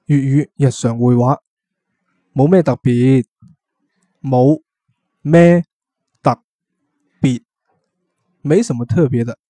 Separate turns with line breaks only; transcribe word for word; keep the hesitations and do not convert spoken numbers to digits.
粵語日常會話，冇咩特別，冇咩特別，沒什麼特別的。